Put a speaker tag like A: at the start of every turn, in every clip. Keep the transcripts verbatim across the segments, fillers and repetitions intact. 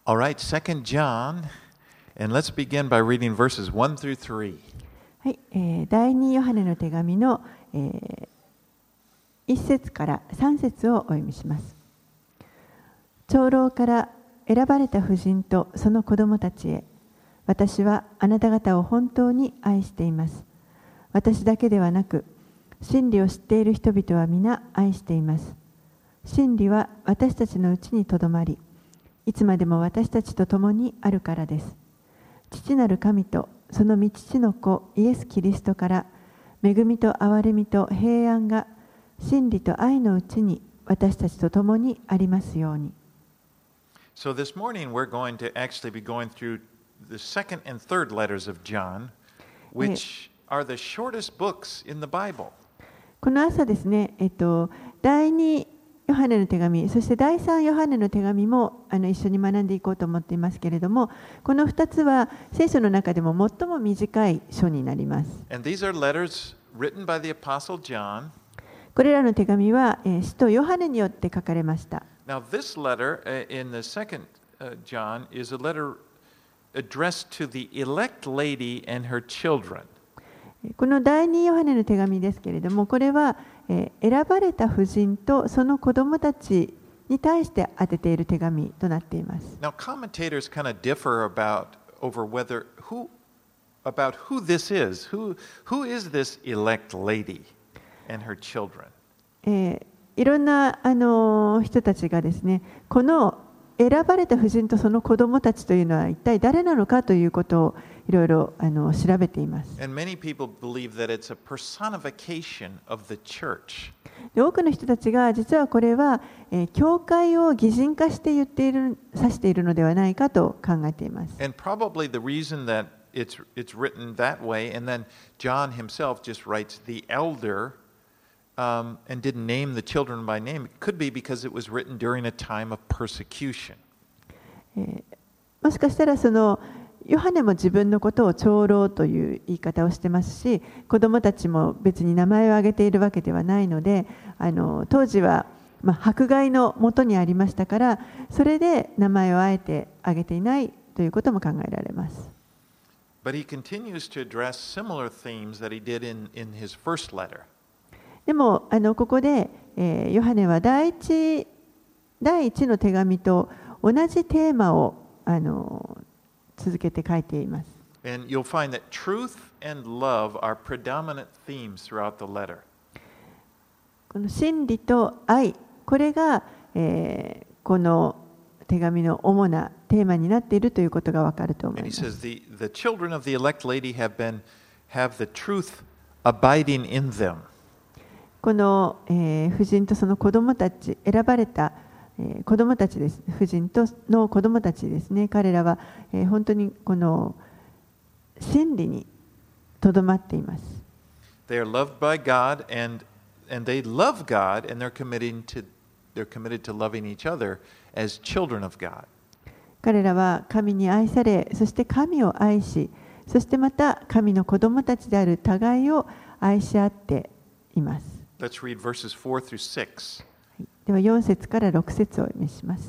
A: All right, Second John, and let's begin by reading verses one through three.
B: はい、えー、第二ヨハネの手紙の、えー、いち節からさん節をお読みします。長老から選ばれた婦人とその子供たちへ、私はあなた方を本当に愛しています。私だけではなく、真理を知っている人々は皆愛しています。真理は私たちのうちにとどまり、いつまでも私たちと共にあるからです。父なる神とその御父の子イエス・キリストから恵みと憐れみと平安が真理と愛のうちに私たちと共にありますように。
A: So this morning we're going to actually be going through the second and third letters of John, which are the shortest books in the Bible.
B: この朝ですね、えっと、第二ヨハネの手紙、そして第三ヨハネの手紙もあの一緒に学んでいこうと思っていますけれども、このふたつは聖書の中でも最も短い書になります。
A: And these are letters written by the Apostle John.
B: これらの手紙は、えー、使徒ヨハネによって書かれました。
A: Now this letter uh, in the second uh, John is a letter addressed to the elect lady and her children.
B: この第二ヨハネの手紙ですけれども、これは、えー、選ばれた婦人とその子供たちに対して当てている手紙となっています。
A: Now commentators kind of differ about over whether who about who this is. Who who is this elect lady and her children?
B: えー、いろんなあの人たちがですね、この選ばれた婦人とその子供たちというのは一体誰なのかということをいろいろあの調べています。
A: And many people believe that it's a personification of the church.
B: で、多くの人たちが実はこれは、えー、教会を擬人化して言っている、指しているのではないかと考えています。
A: And probably the reason that it's it's written that way, and then John himself just writes the elder. Um, and didn't name the children by name. It could be because it was written during a time of persecution.
B: えー、もしかしたらそのヨハネも自分のことを長老という言い方をしてますし、子供たちも別に名前を挙げているわけではないので、あの当時は、まあ、迫害のもとにありましたから、それで名前をあえて挙げていないということも考えられます。
A: But he continues to address similar themes that he did in, in his first letter.
B: でもあのここで、えー、ヨハネは第一、第一の手紙と同じテーマをあの続けて書いています。
A: And you'll find that truth and love are predominant themes throughout the letter.
B: この真理と愛、これが、えー、この手紙の主なテーマになっているということがわかると思い
A: And
B: ま
A: he
B: す。
A: says the, the children of the elect lady have been have the truth abiding in them.
B: この、えー、婦人とその子供たち、選ばれた、えー、子供たちです。婦人との子供たちですね。彼らは、えー、本当にこの真理にとどまっています。
A: They are loved by God and and they love God and they're committing to they're committed to loving each other as children of God.
B: 彼らは神に愛され、そして神を愛し、そしてまた神の子供たちである互いを愛し合っています。
A: Let's read verses four through six.
B: ではよん節からろく節をお読みします。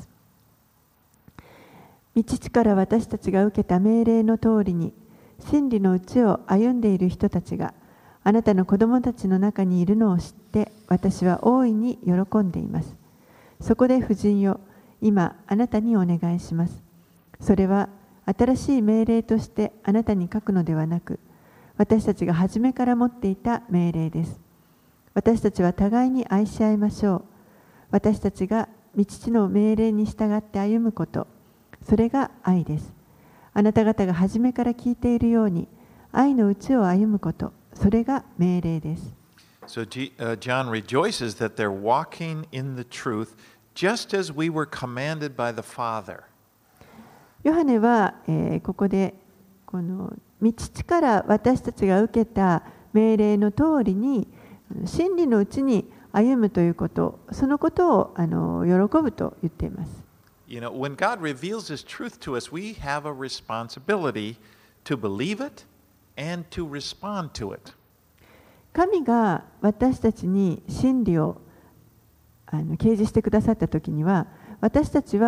B: 御父から私たちが受けた命令の通りに、真理のうちを歩んでいる人たちがあなたの子供たちの中にいるのを知って、私は大いに喜んでいます。そこで婦人よ、今あなたにお願いします。それは新しい命令としてあなたに書くのではなく、私たちが初めから持っていた命令です。私たちは互いに愛し合いましょう。私たちが御父の命令に従って歩むこと、それが愛です。あなた方が初めから聞いているように、愛のうちを歩むこと、それが命令です。
A: So G, uh, John rejoices that they're walking in the truth just as we were commanded by the Father.
B: ヨハネは、えー、ここでこの御父から私たちが受けた命令の通りに真理のうちに歩むということ、そのことをあの喜ぶと言っています。
A: You know, when God reveals His truth to us, we have a responsibility to believe it and to respond to it.
B: 神が私たちに真理をあの掲示してくださったときには、私たちは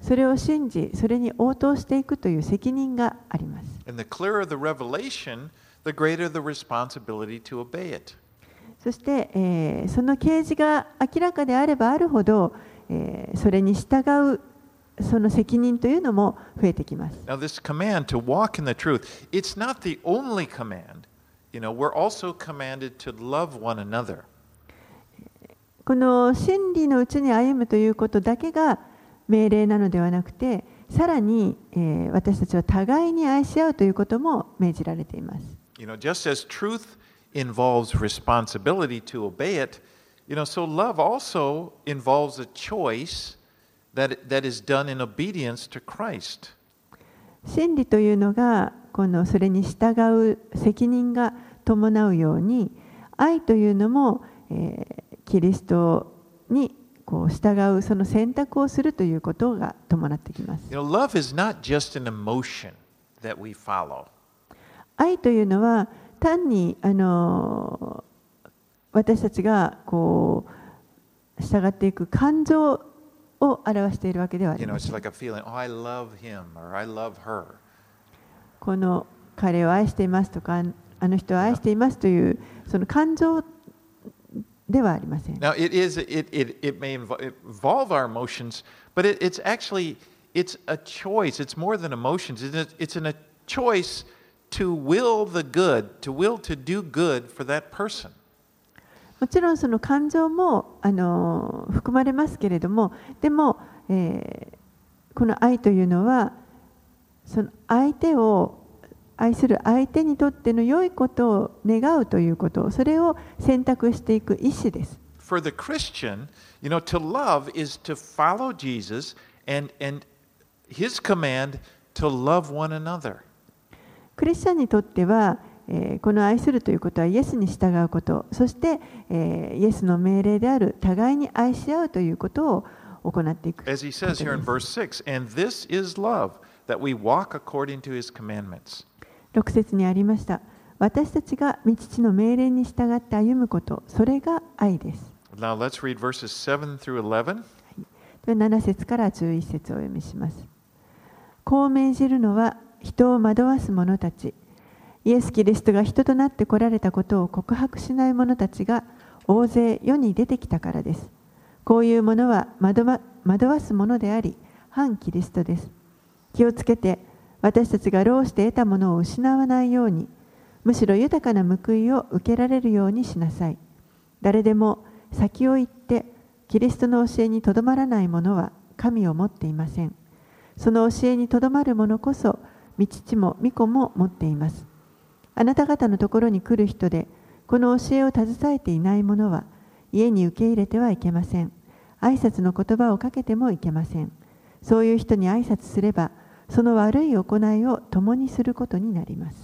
B: それを信じ、それに応答していくという責任があります。
A: And the clearer the revelation, the greater the responsibility to obey it.
B: そして、えー、その啓示が明らかであればあるほど、えー、それに従うその責任というのも増えてきます。
A: Now, this command to walk in the truth, it's not the only command. You know, we're also commanded to love one another.
B: この真理のうちに歩むということだけが命令なのではなくて、さらに、えー、私たちは互いに愛し合うということも命じられています。
A: You know, just as truth involves responsibility to obey it, you know, so love also involves a choice that, that is done in obedience to Christ.
B: 真理というのがこのそれに従う責任が伴うように、愛というのも、えー、キリストにこう従うその選択をするということが伴ってきます。
A: You know, love is not just an emotion that we follow.
B: 愛というのは単にあの私たちがこう従っていく感情を表しているわけではありません。
A: You know, it's like a feeling, oh, I love him or I love her.
B: この彼を愛していますとか、あの人を愛していますというその感情ではありません。
A: Now, it is, it, it, it may involve our emotions, but it, it's actually, it's a choice. It's more than emotions. It's, it's an, a choice to will the good, to will to do good for that person.
B: もちろんその感情もあの含まれますけれども、でも、えー、この愛というのはその相手を愛する相手にとっての良いことを願うということ、それを選択していく意思です。
A: For the Christian, you know, to love is to follow Jesus and, and his command to love one another.
B: クリスチャンにとっては、えー、この愛するということはイエスに従うこと、そして、えー、イエスの命令である互いに愛し合うということを行っていくことです。
A: As he says here in verse six, and this is love, that we walk according to his commandments.
B: ろく節にありました。私たちが御父の命令に従って歩むこと、それが愛です。
A: Now let's read verses seven through eleven.
B: ではなな節からじゅういち節をお読みします。こう命じるのは人を惑わす者たち、イエス・キリストが人となって来られたことを告白しない者たちが大勢世に出てきたからです。こういうものは惑わ、惑わすものであり、反キリストです。気をつけて、私たちが労して得たものを失わないように、むしろ豊かな報いを受けられるようにしなさい。誰でも先を行って、キリストの教えにとどまらない者は神を持っていません。その教えにとどまる者こそ、御父も御子も持っています。あなた方のところに来る人で、この教えを携えていない者は、家に受け入れてはいけません。挨拶の言葉をかけてもいけません。そういう人に挨拶すれば、その悪い行いを共にすることになります。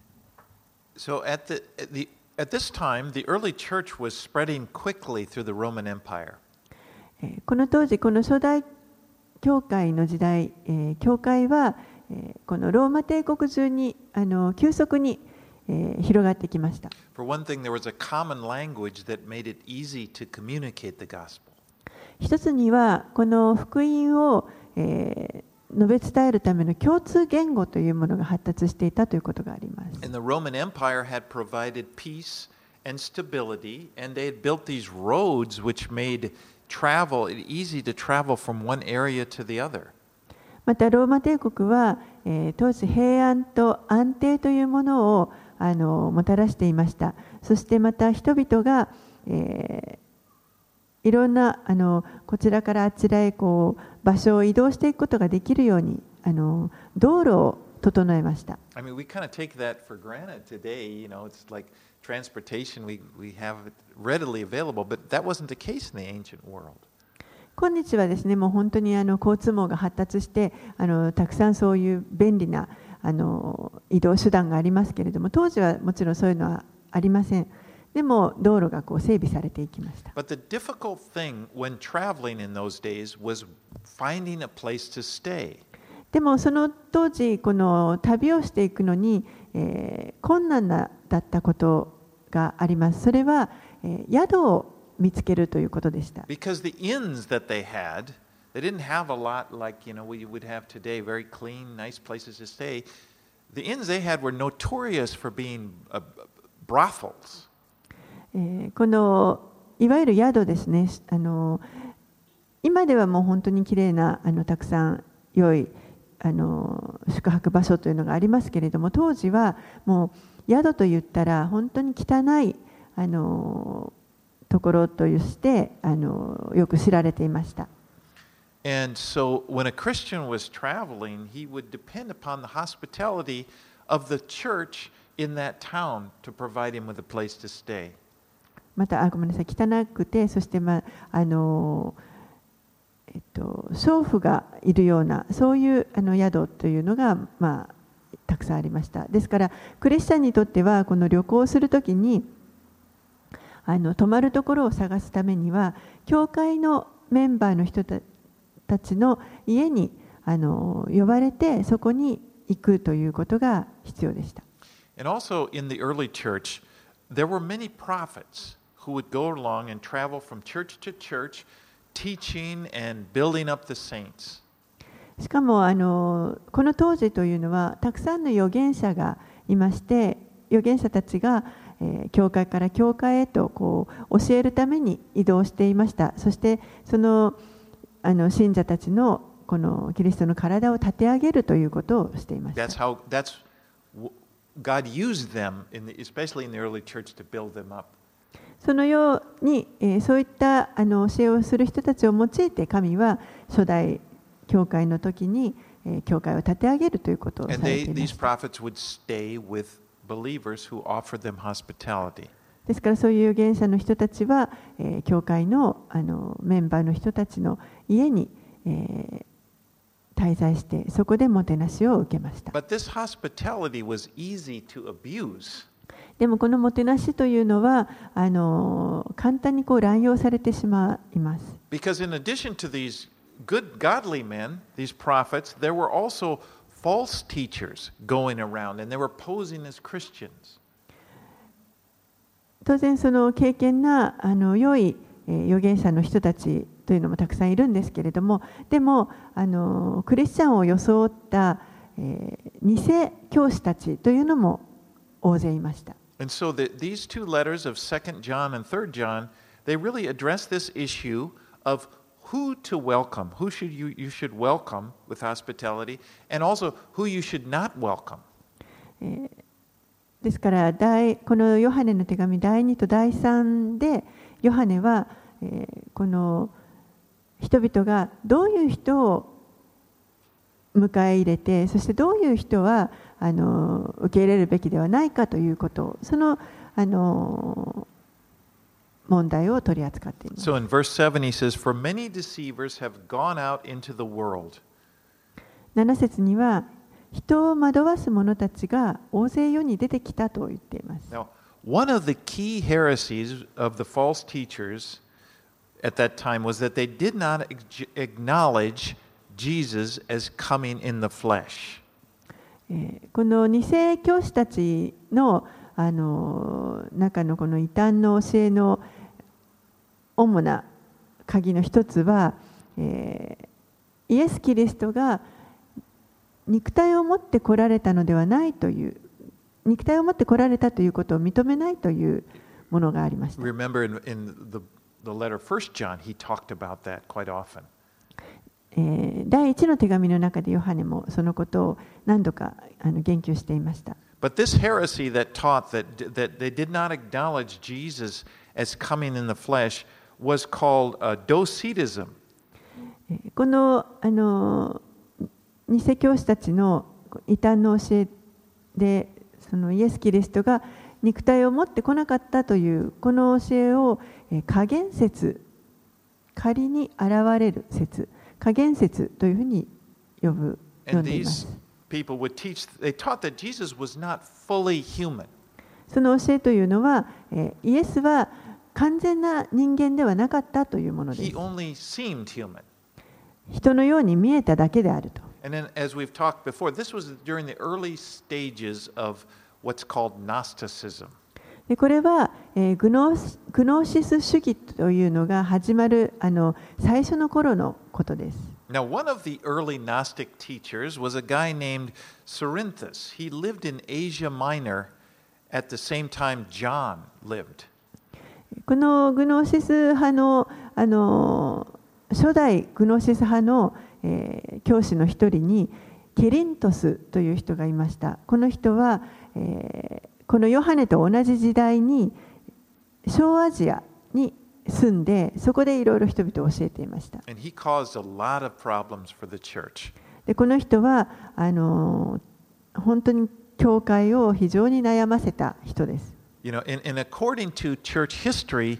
A: So at the, at the, at this time, the early church was spreading quickly through the Roman Empire.
B: この当時、この初代教会の時代、教会はこのローマ帝国中にあの急速に広がってきました。
A: For one thing, there was a common language that made it easy to communicate the gospel.
B: 一つには、この福音を、えー述べ伝えるための共通言語というものが発達していたということがあります。
A: And the Roman Empire had provided peace and stability, and they had built these roads which made travel easy to travel from one area to the other.
B: またローマ帝国は、えー、当時平安と安定というものをあのもたらしていました。そしてまた人々が、えーいろんなあのこちらからあちらへこう場所を移動していくことができるようにあの道路を整えました。
A: I mean, we kind of take that for granted today. You know, it's like transportation. We we have it readily available, but that wasn't the case in the ancient world.
B: 今日はですね、もう本当にあの交通網が発達してあのたくさんそういう便利なあの移動手段がありますけれども、当時はもちろんそういうのはありません。でも道路がこう整備されていきました。
A: But the difficult thing when traveling in those days was finding a place to stay.
B: でもその当時この旅をしていくのに、えー、困難なだったことがあります。それは、えー、宿を見つけるということでした。
A: Because the inns that they had, They didn't have a lot like, you know, we would have today, very clean, nice places to stay. The inns they had were notorious for being uh, brothels.
B: えーこのいわゆる宿ですね、あの今ではもう本当にきれいなあのたくさん良いあの宿泊場所というのがありますけれども、当時はもう宿といったら本当に汚いあのところとしてあのよく知られていました。
A: And so when a Christian was traveling, he would depend upon the hospitality of the church in that town to provide him with a place to stay.
B: また、あ、ごめんなさい、汚くて、そして、まああのえっと、娼婦がいるような、そういうあの宿というのが、まあ、たくさんありました。ですから、クリスチャンにとっては、この旅行をするときに、あの泊まるところを探すためには、教会のメンバーの人たちの家にあの呼ばれて、そこに行くということが必要でした。
A: And also in the early church, there were many prophets who would go along and travel from church to church, teaching and building up the saints.
B: しかもあのこの当時というのはたくさんの預言者がいまして、預言者たちが、えー、教会から教会へとこう教えるために移動していました。そしてその、あの信者たちのこのキリストの体を立て上げるということをしていました。
A: That's how, that's, God used them, in the, especially in the early church, to build them up.
B: そのように、えー、そういったあの教えをする人たちを用いて、神は初代教会の時に、えー、教会を立て上げるということをされていました。ですから、そういう預言者の人たちは、えー、教会の、あのメンバーの人たちの家に、えー、滞在して、そこでもてなしを受けました。
A: But this hospitality was easy to abuse.
B: でもこのもてなしというのはあの簡単にこう乱用されてしまいます。
A: Because in addition to these good godly men, these prophets, there were also false teachers going around and they were posing as Christians.
B: 当然その敬虔なあの良い預言者の人たちというのもたくさんいるんですけれども、でもあのクリスチャンを装った、えー、偽教師たちというのも大勢いました。
A: And so the, these two letters of Second John and Third John, they really address this issue of who to welcome, who should you, you should welcome with hospitality, and also who you should not welcome.
B: ですから第このヨハネの手紙だいにとだいさんでヨハネは、えー、この人々がどういう人を迎え入れて、そしてどういう人はあの受け入れるべきではないかということを、そのあの問題を取り扱っています。
A: So in verse seven he says, "For many deceivers have gone out into the world."
B: なな節には人を惑わす者たちが大勢世に出てきたと言っています。
A: Now, one of the key heresies of the false teachers at that time was that they did not acknowledge Jesus as coming in the flesh.
B: この偽教師たちのあの中のこの異端の教えの主な鍵の一つは、えー、イエス・キリストが肉体を持って来られたのではないという、肉体を持って来られたということを認めないというものがありました。
A: Remember in, in the, the letter First John, he talked about that quite often.
B: 第一の手紙の中でヨハネもそのことを何度かあの言及していました。
A: But this heresy that taught that, that they did not acknowledge Jesus as coming in the flesh was called uh, Docetism.
B: このあの偽教師たちの異端の教えで、そのイエス・キリストが肉体を持ってこなかったというこの教えを加減説、仮に現れる説、加減説というふうに呼ぶ呼んでいます。
A: People would teach, they taught that Jesus was not fully human.
B: その教えというのは、イエスは完全な人間ではなかったというものです。
A: He only seemed human.
B: 人のように見えただけであると。
A: And then, as we've talked before, this was during the early stages of what's called Gnosticism.
B: でこれは、えーグノース、グノーシス主義というのが始まるあの最初の頃のことです。
A: Now, one of the early Gnostic teachers was a guy named Cerinthus. He lived in Asia Minor at the same time John lived.
B: このグノーシス派の、あの初代グノーシス派の、えー教師の一人にケリントスという人がいました。この人は、えーこのヨハネと同じ時代に小アジアに住んで、そこでいろいろ人々を教えていました。
A: And he caused a lot of problems for the church.
B: でこの人はあの本当に教会を非常に悩ませた人です。
A: You know, and, and according to church history,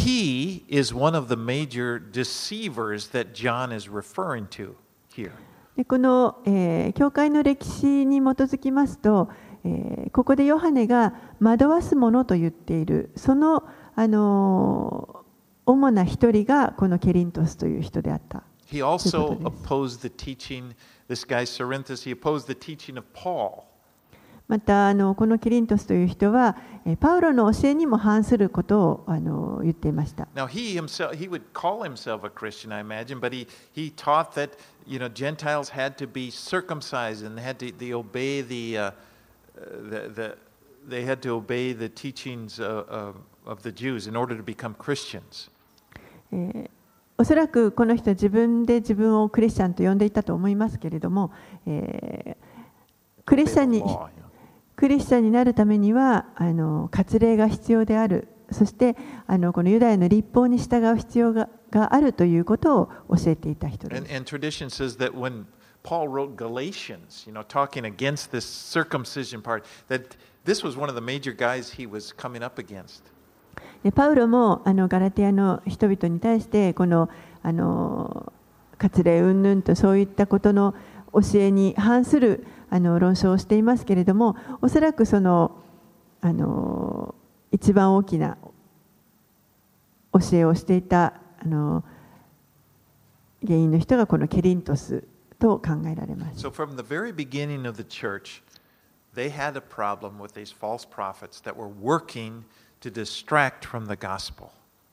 A: he is one of the major deceivers that John is referring to here.
B: でこの、えー教会の歴史に基づきますと、えーここでヨハネが惑わすものと言っている、その、あのー主な一人がこのケリントスという人であった。
A: He also opposed the teaching, this guy Cerinthus, he opposed the teaching of Paul.
B: またあのこのケリントスという人は、えーパウロの教えにも反することをあの言っていました。
A: Now he himself, he would call himself a Christian, I imagine, but he, he taught that, you know, Gentiles had to be circumcised and had to they obey the, uh, the, the they had to obey the teachings of, of, of the Jews in order to become Christians.
B: えーおそらくこの人は自分で自分をクリスチャンと呼んでいたと思いますけれども、えークリスチャンに
A: Law, you know.
B: クリスチャンになるためにはあの割礼が必要である、そしてあのこのユダヤの律法に従う必要が、があるということを教えていた人で
A: And,
B: す。
A: and tradition says that when Paul wrote Galatians, you know, talking against this circumcision part, that this was one of the major guys he was coming up against.
B: でパウロもあのガラテヤの人々に対してこのあの割礼云々とそういったことの教えに反するあの論証をしていますけれども、おそらくそのあの一番大きな教えをしていたあの原因の人がこのケリントスと考えられます。
A: So from the very beginning of the church, they had a problem with these false prophets that were working to distract from the gospel.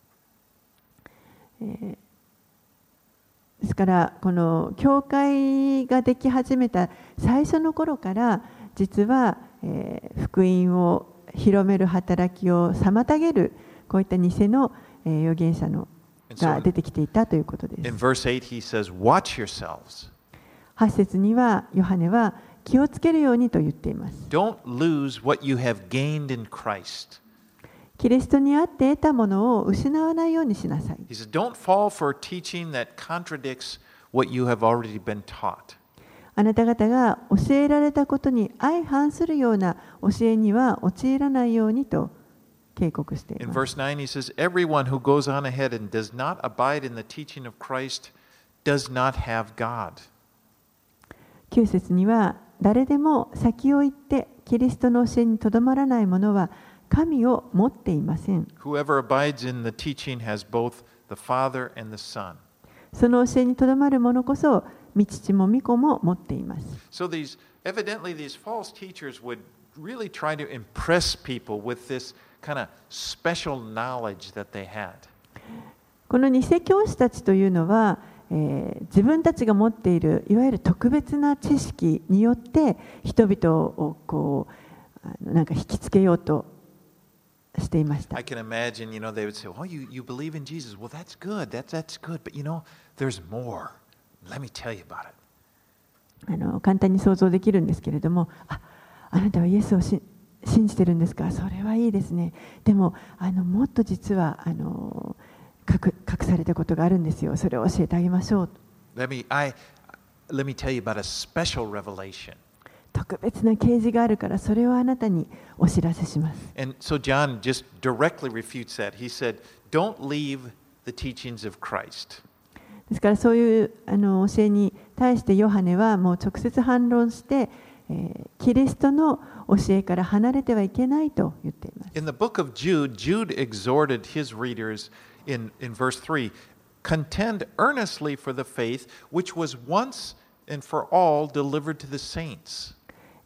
B: ですからこの教会ができ始めた最初の頃から実は、えー福音を広める働きを妨げるこういった偽の、えー預言者のが出てきていたということで
A: In
B: す。
A: verse eight, he says, Watch yourselves.
B: はち節にはヨハネは気をつけるようにと言っています。
A: Don't lose what you have gained in Christ.
B: キリストにあって得たものを失わないようにしなさい。
A: He says, Don't fall for teaching that contradicts what you have already been taught.
B: あなた方が教えられたことに相反するような教えには陥らないようにと警告してい
A: In
B: ます。
A: verse nine, he says, Everyone who goes on ahead and does not abide in the teaching of Christ does not have God.
B: きゅう節には誰でも先を行ってキリストの教えにとどまらない者は神を持っていません。
A: Whoever abides in the teaching has both the Father and the Son.
B: その教えにとどまる者こそ御父も御子も持っています。
A: So these evidently these false teachers would really try to impress people with this kind of special knowledge that they had.
B: この偽教師たちというのは、えー自分たちが持っているいわゆる特別な知識によって人々をこうあのなんか引きつけようとしていました
A: I。can imagine, you know, they would say, "Oh, you, you believe in Jesus? Well, that's good. That's that's good. But you know, there's more. Let me tell you about it."
B: あの簡単に想像できるんですけれども、あ、あなたはイエスをし信じてるんですか。それはいいですね。でもあのもっと実はあの隠隠されたことがあるんですよ。それを教えてあげましょう。
A: Let me I let me tell you about a special revelation.
B: 特別な啓示があるからそれをあなたにお知らせします。
A: And so John just directly refutes that. He said, "Don't leave the teachings of Christ."
B: ですからそういうあの教えに対してヨハネはもう直接反論して、えーキリストの教えから離れてはいけないと言っています。
A: In the book of Jude, Jude exhorted his readers in, in verse three, contend earnestly for the faith which was once and for all delivered to the saints.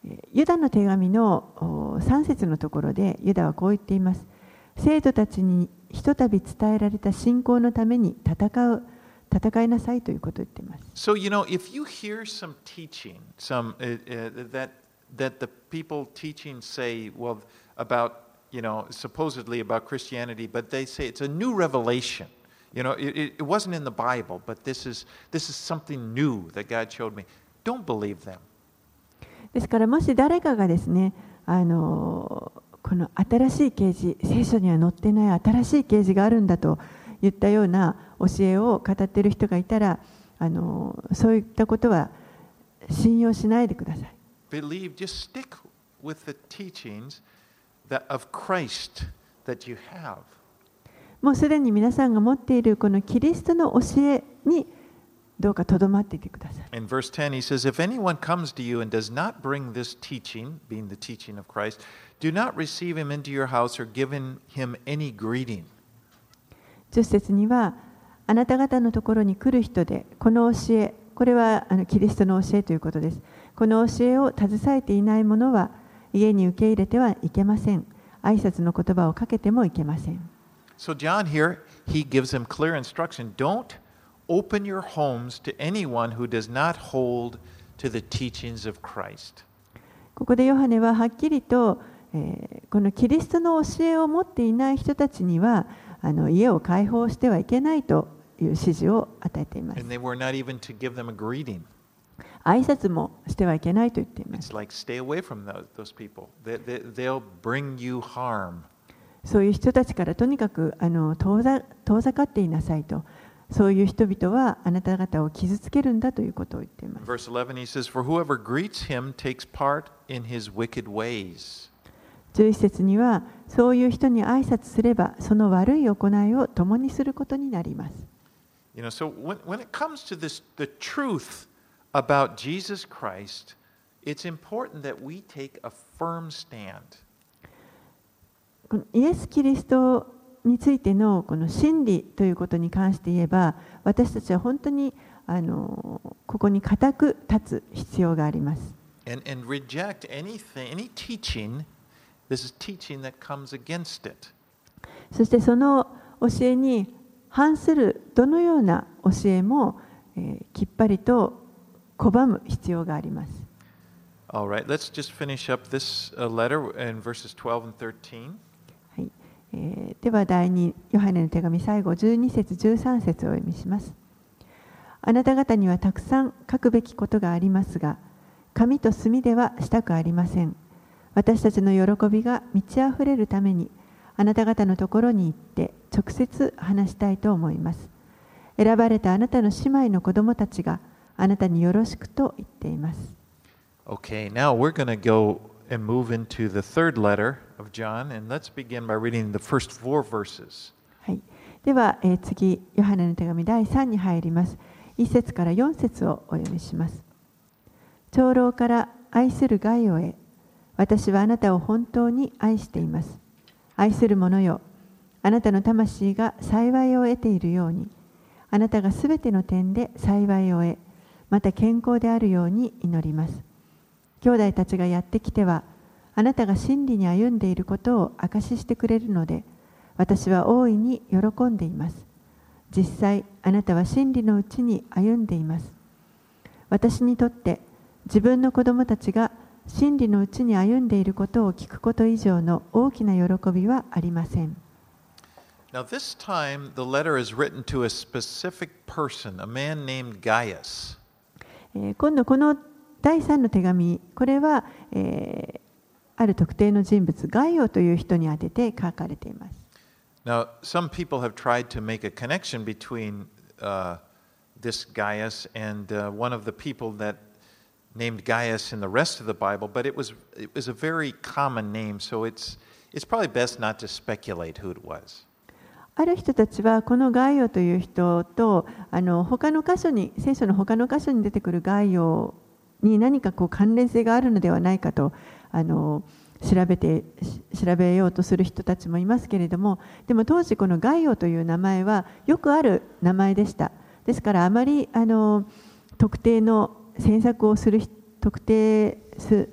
B: ユダの手紙のさん節のところでユダはこう言っています。生徒たちにひとたび伝えられた信仰のために戦う戦いなさいということを言っています。
A: So, you know, if you hear some teaching, some uh, uh, that that the people teaching say, well, about, you know, supposedly about Christianity, but they say it's a new revelation. You know, it, it wasn't in the Bible, but this is this is something new that God showed me. Don't believe them.
B: ですからもし誰かがですね、あのこの新しい啓示、聖書には載ってない新しい啓示があるんだと言ったような教えを語っている人がいたら、あのそういったことは信用しないでください。
A: Believe, just stick with the teachings that of Christ that you have.
B: もうすでに皆さんが持っているこのキリストの教えにどうかとどまっていてください。
A: In verse ten, he says, If anyone comes to you and does not bring this teaching, being the teaching of Christ, do not receive him into your house or give him any greeting.
B: じゅっ節には、あなた方のところに来る人で、この教え、これはあのキリストの教えということです。この教えを携えていない者は、家に受け入れてはいけません。挨拶の言葉をかけてもいけません。
A: So John here, he gives them clear instruction. Don't open your homes to anyone who does not hold to the teachings of Christ.
B: ここでヨハネははっきりと、えー、このキリストの教えを持っていない人たちにはあの家を開放してはいけないという指示を与えています。
A: And they were not even to give them a greeting.
B: 挨拶もしてはいけないと言っています。
A: It's like stay away from those, those people. They, they, they'll bring you harm.
B: そういう人たちからとにかくあの遠ざ、遠ざかっていなさいと。そういう人々はあなた方を傷つけるんだということを言っています。
A: Verse eleven, he says, For whoever greets him takes part in his wicked ways.
B: じゅういち節には、そういう人に挨拶すれば、その悪い行いを共にすることになります。
A: You know, so when, when it comes to this, the truth about Jesus Christ, it's important that we take a firm stand.
B: このイエス・キリストについてのこの真理ということに関して言えば、私たちは本当にあのここに固く立つ必要があります。
A: And, and reject anything, any teaching, this is teaching that comes against it.
B: そしてその教えに反するどのような教えも、えー、きっぱりと拒む必要があります。
A: All right, let's just finish up this uh, letter in verses twelve and thirteen.
B: はい、えー、では第二ヨハネの手紙最後じゅうに節じゅうさん節をお読みします。あなた方にはたくさん書くべきことがありますが、紙と墨ではしたくありません。私たちの喜びが満ち溢れるために、あなた方のところに行って直接話したいと思います。選ばれたあなたの姉妹の子供たちがあなたによろしくと言っています。
A: Okay, now we're going to go and move into the third letter of John, and let's begin by reading the first four verses.
B: はい、では、えー、次、ヨハネの手紙だいさんに入ります。いち節からよん節をお読みします。長老から愛するガイオへ、私はあなたを本当に愛しています。愛する者よ、あなたの魂が幸いを得ているように、あなたがすべての点で幸いを得、また健康であるように祈ります。兄弟たちがやってきては、あなたが真理に歩んでいることを証ししてくれるので、私は大いに喜んでいます。実際、あなたは真理のうちに歩んでいます。私にとって、自分の子供たちが真理のうちに歩んでいることを聞くこと以上の大きな喜びはありません。
A: Now, this time the letter is written to a specific person, a man named Gaius.
B: えー、今度このだいさんの手紙、これは、えー、ある特定の人物、ガイオという人に宛てて書かれています。
A: Now, some people have tried to make a connection between uh, this Gaius and uh, one of the people that named Gaius in the rest of the Bible, but it was it was a very common name, so it's it's probably best not to speculate who it was.
B: ある人たちはこのガイオという人とあの他の箇所に聖書の他の箇所に出てくるガイオに何かこう関連性があるのではないかとあの調べて調べようとする人たちもいますけれども、でも当時このガイオという名前はよくある名前でした。ですからあまりあの特定の詮索をする特定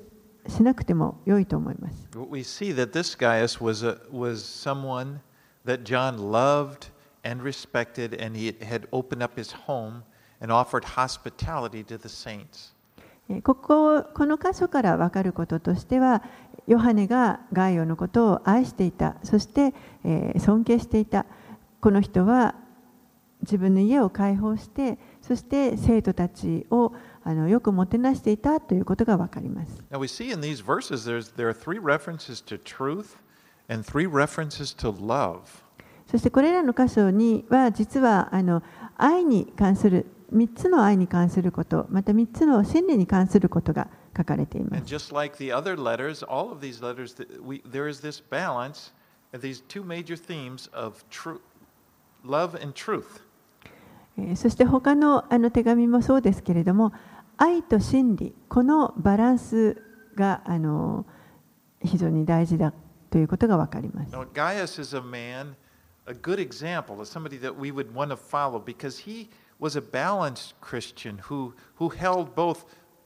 B: しなくても良いと思います。
A: We see that this Gaius was, a, was someone that John loved and respected, and he had opened up his home and offered hospitality to the saints.
B: ここ、この箇所から分かることとしては、ヨハネがガイオのことを愛していた、そして、えー、尊敬していた。この人は自分の家を開放して、そして生徒たちをあのよくもてなしていたということが分かります。
A: Now we see in these verses there's, there are three references to truth and three references to love.
B: そしてこれらの箇所には実はあの愛に関するみっつの愛に関すること、またみっつの真理に関することが書かれています。
A: And just like the other letters, all of these letters, we, there is this balance of these two major themes of truth, love and truth.
B: そして他のあの手紙もそうですけれども、愛と真理、このバランスがあの非常に大事だということがわかります。
A: Now, Gaius is a man, a good example of somebody that we would want to follow because he was a balanced Christian who, who held both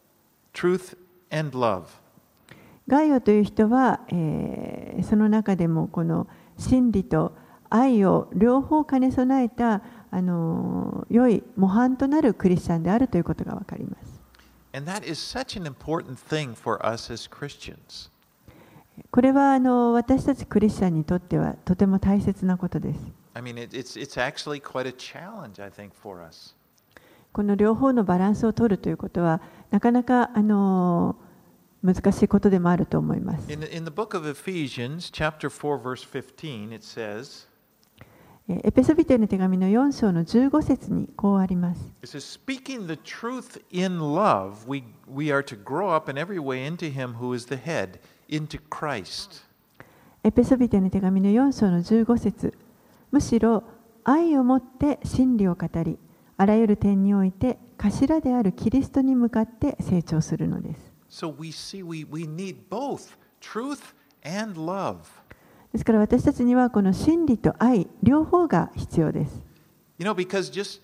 A: truth and love.
B: ガイオという人は、えー、その中でもこの真理と愛を両方兼ね備えたあの良い模範となるクリスチャンであるということがわかります。
A: And that is such an important thing for us as Christians.
B: これはあの私たちクリスチャンにとってはとても大切なことです。
A: I mean, it, it's, it's actually quite a challenge, I think, for us.
B: この両方のバランスを取るということはなかなかあの難しいことでもあると思います。
A: In, in the book of Ephesians, chapter four, verse fifteen, it says,
B: エペソビテの手紙のよん章のじゅうご節にこうあります。
A: It says, speaking the truth in love, we, we are to grow up in every way into Him who is the head, into Christ.
B: エペソビテの手紙のよん章のじゅうご節、むしろ愛をもって真理を語り、あらゆる点において頭であるキリストに向かって成長するのです。
A: So we see we, we need both truth and love.
B: ですから私たちにはこの真理と愛、両方が必要です。
A: You know, because just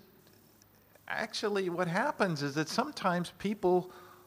A: actually what happens is that sometimes people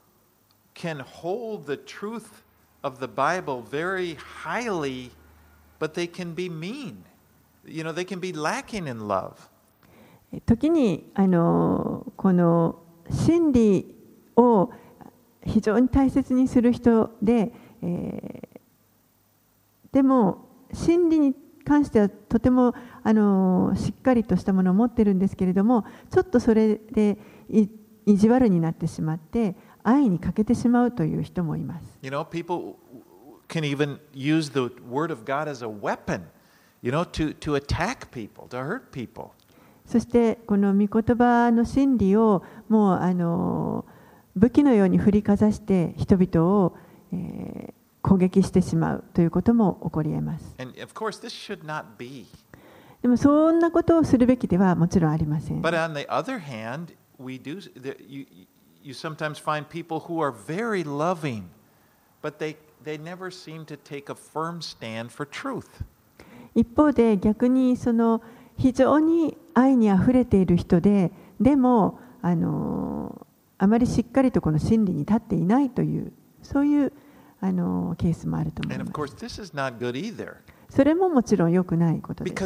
A: can hold the truth of the Bible very highly, but they can be mean. You know, they can be lacking in love.
B: 時にあのこの真理を非常に大切にする人で、えー、でも真理に関してはとてもあのしっかりとしたものを持っているんですけれども、ちょっとそれでい意地悪になってしまって愛に欠けてしまうという人もいます。
A: You know, people can even use the word of God as a weapon, you know, to, to attack people, to hurt people.
B: そしてこの御言葉の真理をもうあの武器のように振りかざして人々を、えー攻撃してしまうということも起こり得ます。
A: And of course, this should not be.
B: でもそんなことをするべきではもちろんありません。
A: But on the other hand, we do. You, you sometimes find people who are very loving, but they they never seem to take a firm stand for truth.
B: 一方で逆にその非常に愛にあふれている人で、でもあのあまりしっかりとこの真理に立っていないというそういうあのケースもあると思います。それももちろん良くないことです。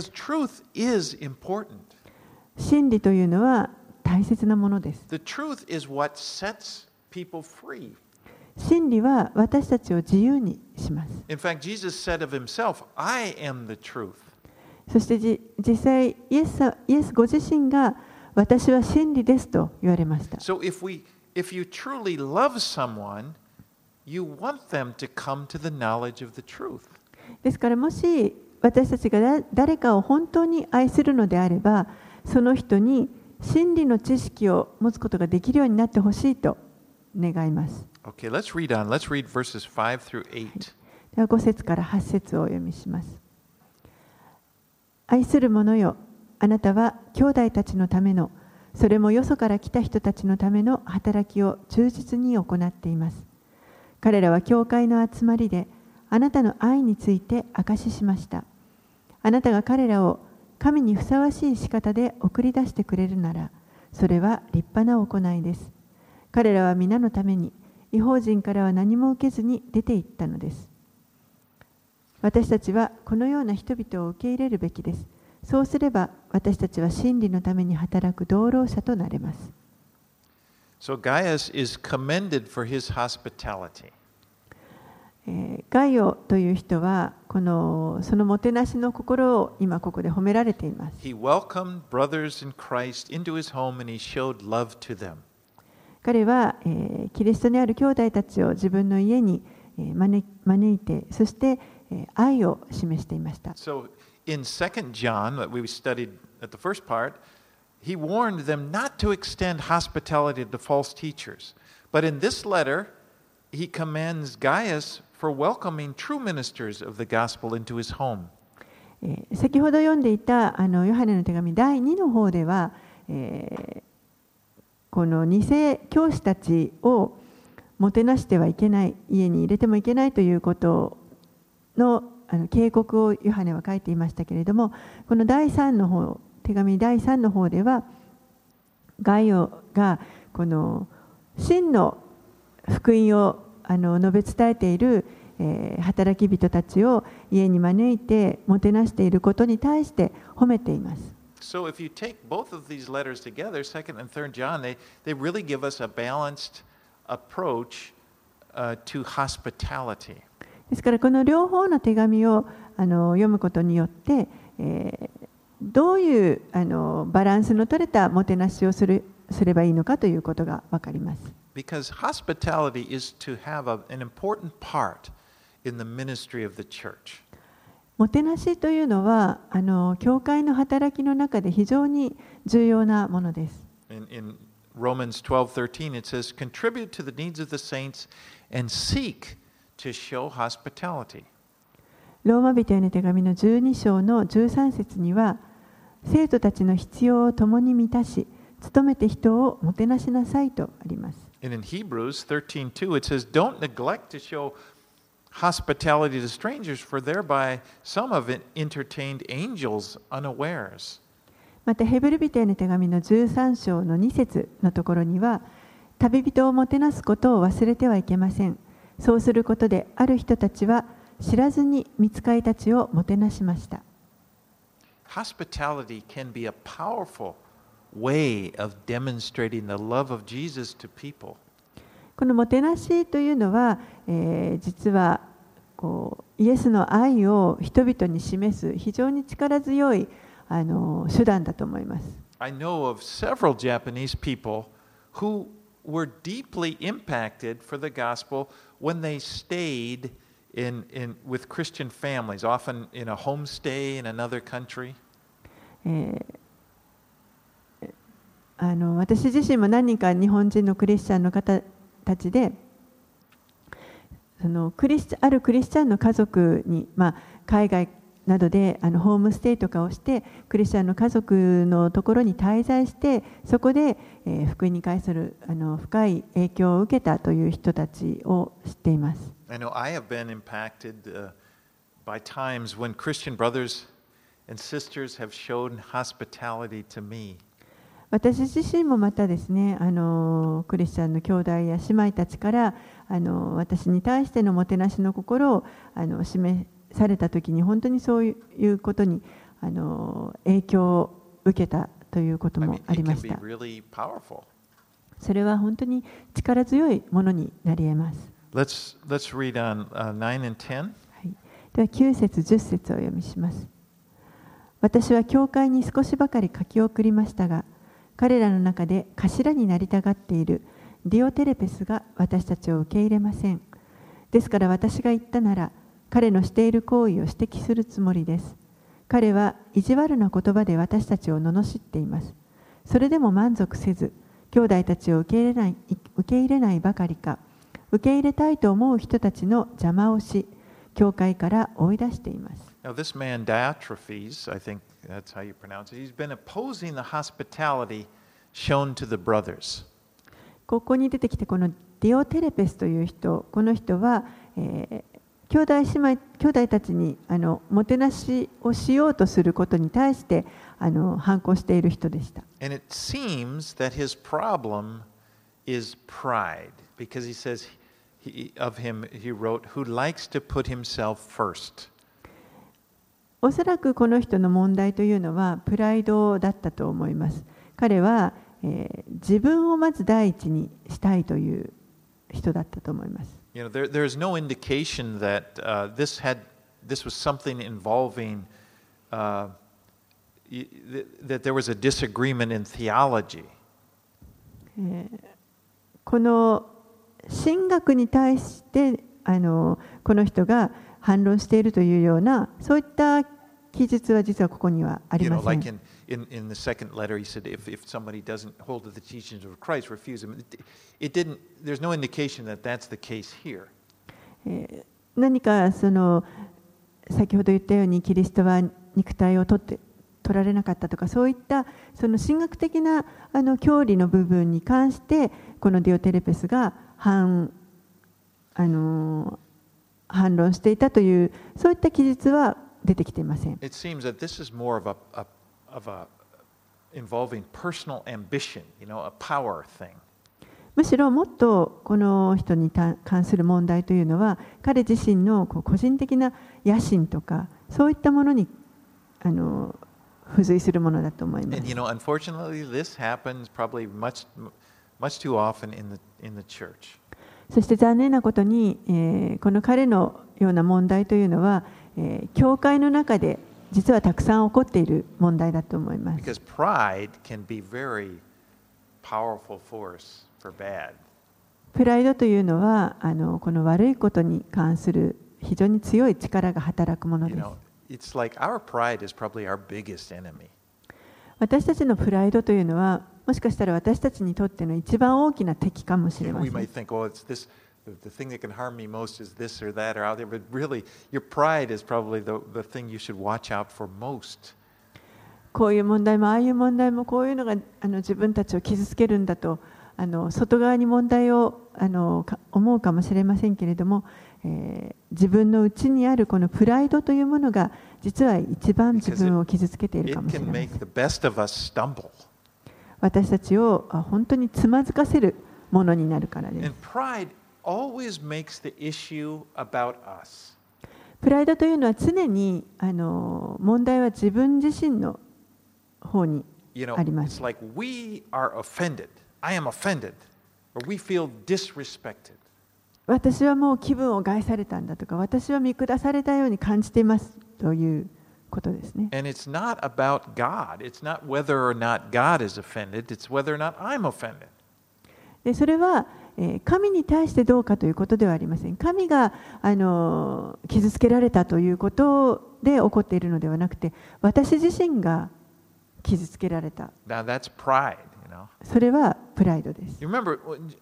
B: 真理というのは大切なものです。真理は私たちを自由にします。
A: In fact, Jesus said of himself, I am the truth.
B: そしてじ実際イエス、イエスご自身が私は真理ですと言われました。
A: So if we, if you truly love someone, you want them to come to the knowledge of the truth.
B: ですからもし私たちが誰かを本当に愛するのであれば、その人に真理の知識を持つことができるようになってほしいと願います。
A: Okay, let's read on. Let's read verses five through eight.
B: ではご節からはち節をお読みします。愛する者よ、あなたは兄弟たちのための、それもよそから来た人たちのための働きを忠実に行っています。彼らは教会の集まりであなたの愛について証ししました。あなたが彼らを神にふさわしい仕方で送り出してくれるなら、それは立派な行いです。彼らは皆のために異邦人からは何も受けずに出て行ったのです。私たちはこのような人々を受け入れるべきです。そうすれば私たちは真理のために働く同労者となれます。
A: So Gaius is commended for his hospitality.
B: えーガイオという人はこのそのもてなしの心を今ここで褒められています。
A: He welcomed brothers in Christ into his home and he showed love to them.
B: 彼は、えーキリストにある兄弟たちを自分の家に、えー招招いて、そして、えー愛を示していました。
A: So in Second John, that we studied at the first part, he warned them not to extend hospitality to false teachers. But in this letter, he commends Gaius for welcoming true ministers of the gospel into his home.
B: えー先ほど読んでいたあのヨハネの手紙だいにの方では、えーこの偽教師たちをもてなしてはいけない、家に入れてもいけないということの、あの警告をヨハネは書いていましたけれども、このだいさんの方、手紙だいさんの方では、ガイオがこの真の福音をあの述べ伝えている、えー働き人たちを家に招いてもてなしていることに対して褒めています。
A: So if you take both of these letters together, Second and Third John, they, they really give us a balanced approach uh, to hospitality.
B: ですからこの両方の手紙をあの読むことによって、えーどういうあのバランスの取れたもてなしをするすればいいのかということがわかります。
A: Because hospitality is to have a, an important part in the ministry of the church.
B: もてなしというのはあの教会の働きの中で非常に重要なものです。
A: In, in Romans twelve thirteen, it says, contribute to the needs of the saints and seek to show hospitality.
B: ローマ人への手紙のじゅうに章のじゅうさん節には、生徒たちの必要を共に満たし、努めて人をもてなしなさいとあります。
A: And in Hebrews thirteen two, it says, don't neglect to show hospitality to strangers, for thereby some have entertained angels unawares.
B: またヘブル人への手紙のじゅうさん章のに節のところには、旅人をもてなすことを忘れてはいけません。そうすることである人たちは知らずに御使いたちをもてなしました。
A: Hospitality can be a powerful way of demonstrating the love of Jesus to people.
B: このもてなしというのは、えー実はこうイエスの愛を人々に示す非常に力強いあの手段だと思います。
A: I know of several Japanese people who were deeply impacted for the gospel when they stayed in, in, with Christian families, often in a homestay in another country.
B: えーあの私自身も何人か日本人のクリスチャンの方たちで、そのクリスチャンあるクリスチャンの家族に、まあ、海外などであのホームステイとかをしてクリスチャンの家族のところに滞在してそこで、えー福音に関するあの深い影響を受けたという人たちを知っています。
A: I know I have been impacted uh, by times when Christian brothers and sisters have shown hospitality to me.
B: 私自身もまたですね、あのクリスチャンの兄弟や姉妹たちからあの私に対してのもてなしの心をあの示されたときに本当にそういうことにあの影響を受けたということ
A: I
B: も
A: mean,
B: あり
A: it
B: ま
A: can
B: し
A: be
B: た。
A: really powerful.
B: それは本当に力強いものになり得ます。
A: Let's, let's read on uh, nine and ten.
B: はい、ではきゅう節じゅっ節をお読みします。私は教会に少しばかり書き送りましたが、彼らの中で頭になりたがっているディオテレペスが私たちを受け入れません。ですから私が言ったなら、彼のしている行為を指摘するつもりです。彼は意地悪な言葉で私たちを罵っています。それでも満足せず、兄弟たちを受け入れない、受け入れないばかりか、受け入れたいと思う人たちの邪魔をし、教会から追い出しています。
A: Now, this man, Diotrephes, I think that's how you pronounce it, he's been opposing the hospitality shown to the brothers.
B: ここに出てきてこのディオテレペスという人、この人は、えー兄弟姉妹兄弟たちにあのもてなしをしようとすることに対してあの反抗している人でした。
A: And it seems that his problem is pride, because he says he, of him, he wrote, who likes to put himself first.
B: おそらくこの人の問題というのはプライドだったと思います。彼は、えー、自分をまず第一にしたいという人だったと思います。
A: You know, there, there's no indication that uh, this had this was something involving uh, that there was a disagreement in theology.
B: えー、この神学に対してあのこの人が反論しているというようなそういった記述は実はここにはあり
A: You
B: ま
A: know,
B: せん。
A: like in, in, in the second letter, he said, if, if somebody doesn't hold to the teachings of Christ, refuse him. It, it didn't, there's no indication that that's the case here.
B: えー、何かその先ほど言ったようにキリストは肉体を取って取られなかったとかそういったその神学的なあの教理の部分に関してこのディオテレペスが反、あの反論していたというそういった記述は出てきていません。
A: It seems that this is more of a, a, of a involving personal ambition, you know, a power thing.
B: むしろもっとこの人に関する問題というのは彼自身のこう個人的な野心とかそういったものにあの付随するものだと思います。
A: And you know, unfortunately, this happens probably much, much too often in the in the church.
B: そして残念なことに、えー、この彼のような問題というのは、えー、教会の中で実はたくさん起こっている問題だと思います。
A: Because pride can be very powerful force for bad.
B: プライドというのはあのこの悪いことに関する非常に強い力が働くもの
A: You
B: です。
A: know, it's like our pride is probably our biggest enemy.
B: 私たちのプライドというのはもしかしたら私たちにとっての一番大きな敵かもしれま
A: We
B: せん。
A: might think, oh, it's this. The thing that can harm me most is this or that or out there. But really, your pride is probably the, the thing you should watch out for most.
B: こういう問題もああいう問題もこういうのがあの自分たちを傷つけるんだとあの外側に問題をあのか思うかもしれませんけれども、えー、自分の内にあるこのプライドというものが実は一番自分を傷つけているかもしれ
A: It
B: ま
A: can
B: せん。
A: make the best of us stumble.
B: 私たちをあ本当につまずかせるものになるからです。
A: And pride always makes the issue about us.
B: プライドというのは常にあの問題は自分自身の方に
A: You know,
B: ありま
A: it's
B: す。
A: like we are offended. I am offended. Or we feel disrespected.
B: 私はもう気分を害されたんだとか私は見下されたように感じていますということですね。
A: And it's not about God. It's not whether or not God is offended. It's whether or not I'm offended.
B: でそれは、えー、神に対してどうかということではありません。神が、あのー、傷つけられたということで起こっているのではなくて私自身が傷つけられた。
A: Now that's pride, you know.
B: それはプライドです。
A: You remember,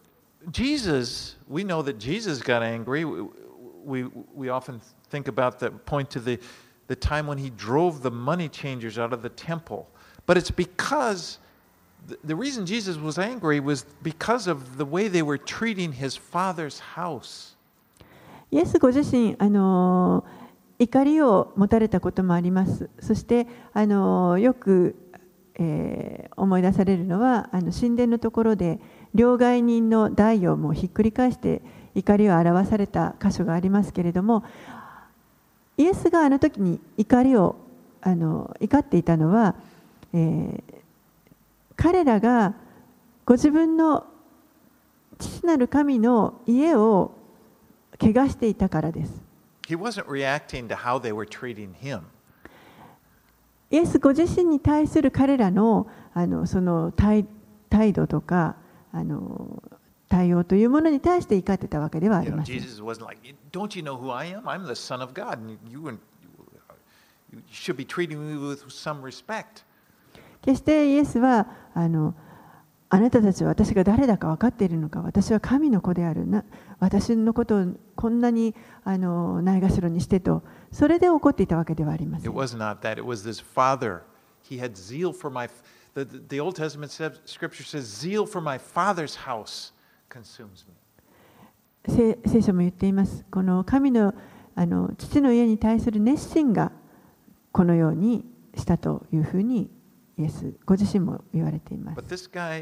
A: Jesus, we know that Jesus got angry. We, we, we often think about the point to the, the time when he drove the money changers out of the temple. But it's because, the, the reason Jesus was angry was because of the way they were treating his father's house.
B: イエスご自身、あのー、怒りを持たれたこともあります。そして、あのー、よく、えー、思い出されるのはあの神殿のところで両替人の台をもうひっくり返して怒りを表された箇所がありますけれどもイエスがあの時に怒りをあの怒っていたのは、えー、彼らがご自分の父なる神の家を汚していたからです。
A: He wasn't reacting to how they were treating him.
B: イエスご自身に対する彼らの、あのその 態, 態度とかあの対応というものに対して怒ってたわけではあり
A: You know,
B: ません。
A: Jesus wasn't like, don't you know who I am? I'm the Son of God, and you, you, you should be treating me with some respect.
B: 決してイエスはあのあなたたちは私が誰だか分かっているのか、私は神の子であるな、私のことをこんなにあのないがしろにしてと、それで怒っていたわけではありませ
A: It
B: ん。
A: was not that. It was this father. He had zeal for my. The, the, the Old Testament says, Scripture says, "Zeal for my father's house consumes me."
B: 聖書も言っています。この神のあの父の家に対する熱心がこのようにしたというふうにイエスご自身も言われています。
A: But this guy,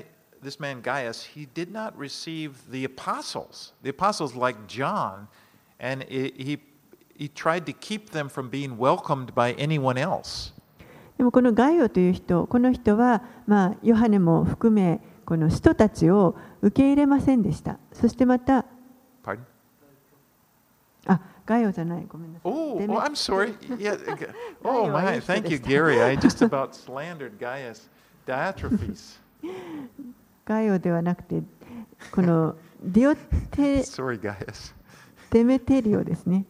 A: this man Gaius, he did not receive the apostles, the apostles like John, and he, he, he tried to keep them from being welcomed by anyone else.
B: でもこのガイオという人、この人は、まあ、ヨハネも含め、この使徒たちを受け入れませんでした。そしてまた、
A: Pardon?
B: あ、ガイオじゃない、ごめんなさい。
A: Oh,
B: デメ
A: oh, I'm sorry. Yeah. Oh
B: ガイオはいい
A: my,
B: 人
A: thank
B: で
A: you,
B: した。
A: Gary. I just about slandered Gaius Diotrephes.
B: ガイオではなくて、このディオテ
A: Sorry, Gaius.
B: デメテリオですね。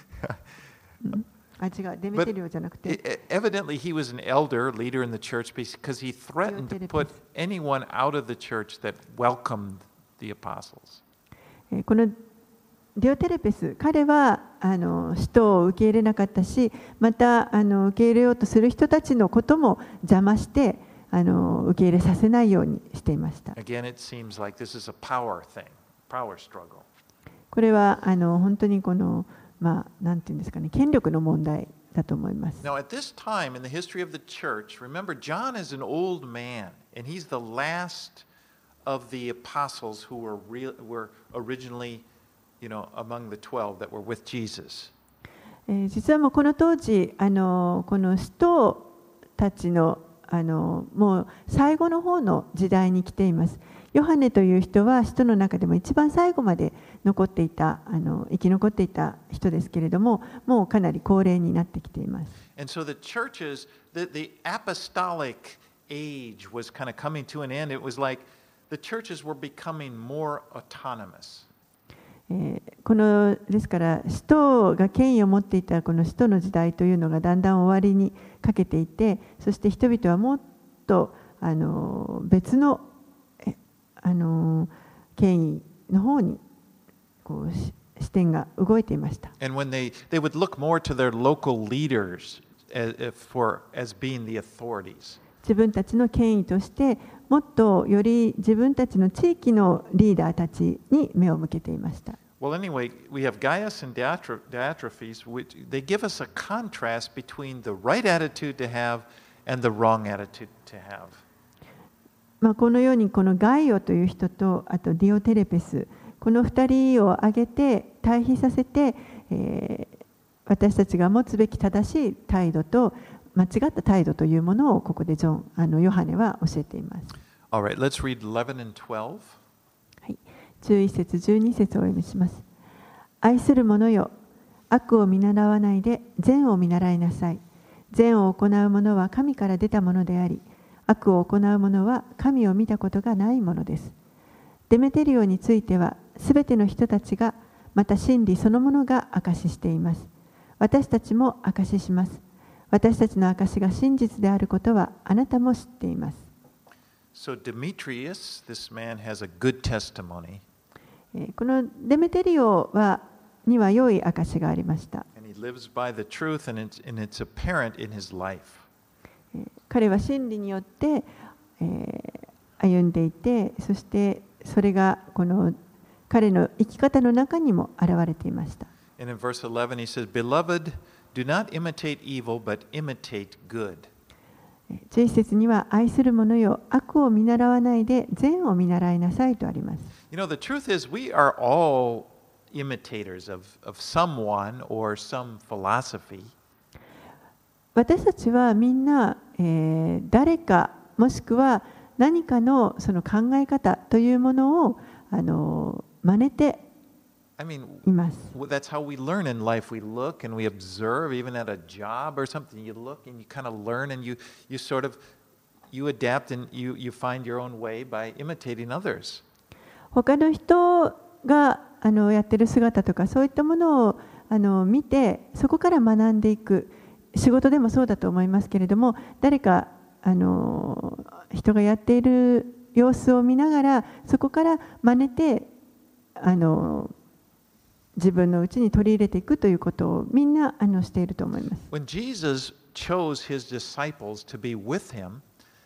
B: あ、違う、デメ
A: But
B: テリオじゃなくて、
A: e- evidently, he was an elder leader in the church because he threatened to put anyone out of the church that welcomed the apostles.
B: えーこのディオテレペス、彼はあの使徒を受け入れなかったし、またあの受け入れようとする人たちのことも邪魔して、あの受け入れさせないようにしていました。
A: Again, it seems like this is a power thing, power struggle.
B: これはあの本当にこの、まあ、なんていうんですかね、権力の問題だと思います。
A: Now, at this time in the history of the church, remember, John is an old man, and he's the last of the apostles who were, real, were originally, you know, among the twelve that were with Jesus.
B: えー実はもうこの当時、あのこの使徒たちのあのもう最後の方の時代に来ています。ヨハネという人は使徒の中でも一番最後まで残っていた、あの生き残っていた人ですけれども、もうかなり高齢になってきています。
A: And so the churches, the, the apostolic age was kind of coming to an end. It was like the churches were becoming more autonomous.
B: えーこのですから使徒が権威を持っていたこの使徒の時代というのがだんだん終わりにかけていて、そして人々はもっとあの別のえあの権威の方にこうし視点が動いていました。
A: And when they, they would look more to their local leaders as, for, as being the authorities.
B: 自分たちの権威としてもっとより自分たちの地域のリーダーたちに目を向けていました。
A: Well, anyway, we have Gaius and Diotre- Diotrephes, which they give us a contrast between the right attitude to have and the wrong attitude to have.
B: まあこのようにこのガイオという人とあとディオテレペス、このふたりを挙げて対比させて、えー私たちが持つべき正しい態度と間違った態度というものをここでジョンあのヨハネは教えています。
A: All right, let's read eleven and twelve.
B: はい、じゅういち節じゅうに節をお読みします。愛する者よ、悪を見習わないで善を見習いなさい。善を行う者は神から出たものであり、悪を行う者は神を見たことがないものです。デメテリオについては、すべての人たちが、また真理そのものが証ししています。私たちも証しします。私たちの証しが真実であることはあなたも知っています。
A: So Demetrius, this man, has a good testimony,
B: えーこのデメテリオはには良い証がありました。
A: and he lives by the truth, and it's, and it's apparent in his life.
B: えー彼は真理によって、えー歩んでいて、そしてそれがこの彼の生き方の中にも現れていました。
A: And in verse eleven, he says, Beloved, do not imitate evil, but imitate good.
B: じゅういち節には愛する者よ、悪を見習わないで善を見習いなさいとあります。
A: You know, the truth is, we are all imitators of, of someone or some philosophy.
B: 私たちはみんな、えー誰かもしくは何かのその考え方というものをあの真似て
A: I mean,
B: います。
A: well, that's how we learn in life. We look and we observe, even at a job or something. You look and you kind of learn, and you, you sort of you adapt and you, you find your own way by imitating others.
B: 他の人があのやってる姿とかそういったものをあの見て、そこから学んでいく。仕事でもそうだと思いますけれども、誰かあの人がやっている様子を見ながら、そこから真似てあの自分のうちに取り入れていくということをみんなあのしていると思います。
A: When Jesus chose his disciples to be with him